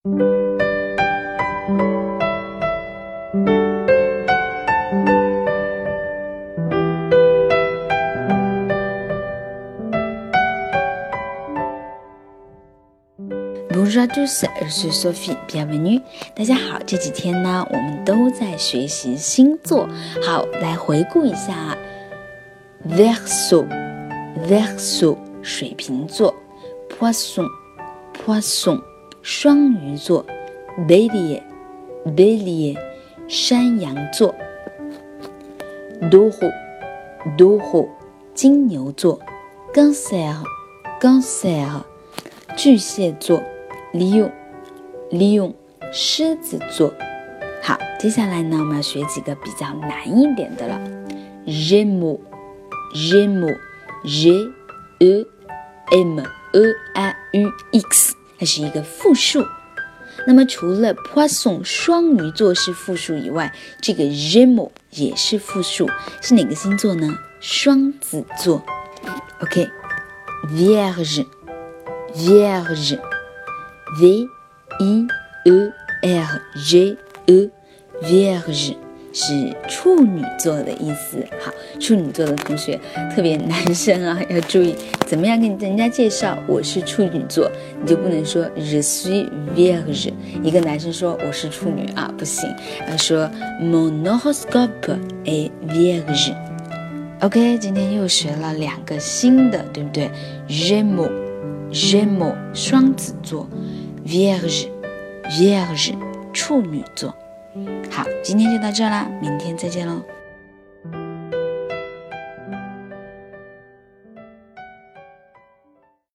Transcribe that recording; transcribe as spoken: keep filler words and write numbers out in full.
Bonjour à tous, je suis Sophie, bienvenue. 大家好，这几天呢，我们都在学习星座。好，来回顾一下 Verseau, Verseau 水瓶座 Poisson, Poisson 双鱼座 Bélier, Bélier 山羊座 Taureau, Taureau 金牛座 Cancer, Cancer 巨蟹座Lion, Lion 狮子座。好，接下来呢，我们要学几个比较难一点的了。Gémeaux, Gémeaux, G E M E A U X 它是一个复数。那么除了 Poisson 双鱼座是复数以外，这个 Gémeaux 也是复数，是哪个星座呢？双子座。OK, Vierge, Vierge V I E R G E Vierge 是处女座的意思。好，处女座的同学，特别男生啊，要注意怎么样跟人家介绍我是处女座，你就不能说 Je suis Vierge， 一个男生说我是处女啊，不行，要说 Mon horoscope est Vierge。 OK， 今天又学了两个新的，对不对？ Gémeaux, Gémeaux 双子座Vierge, Vierge 处女座。好，今天就到这啦，明天再见喽。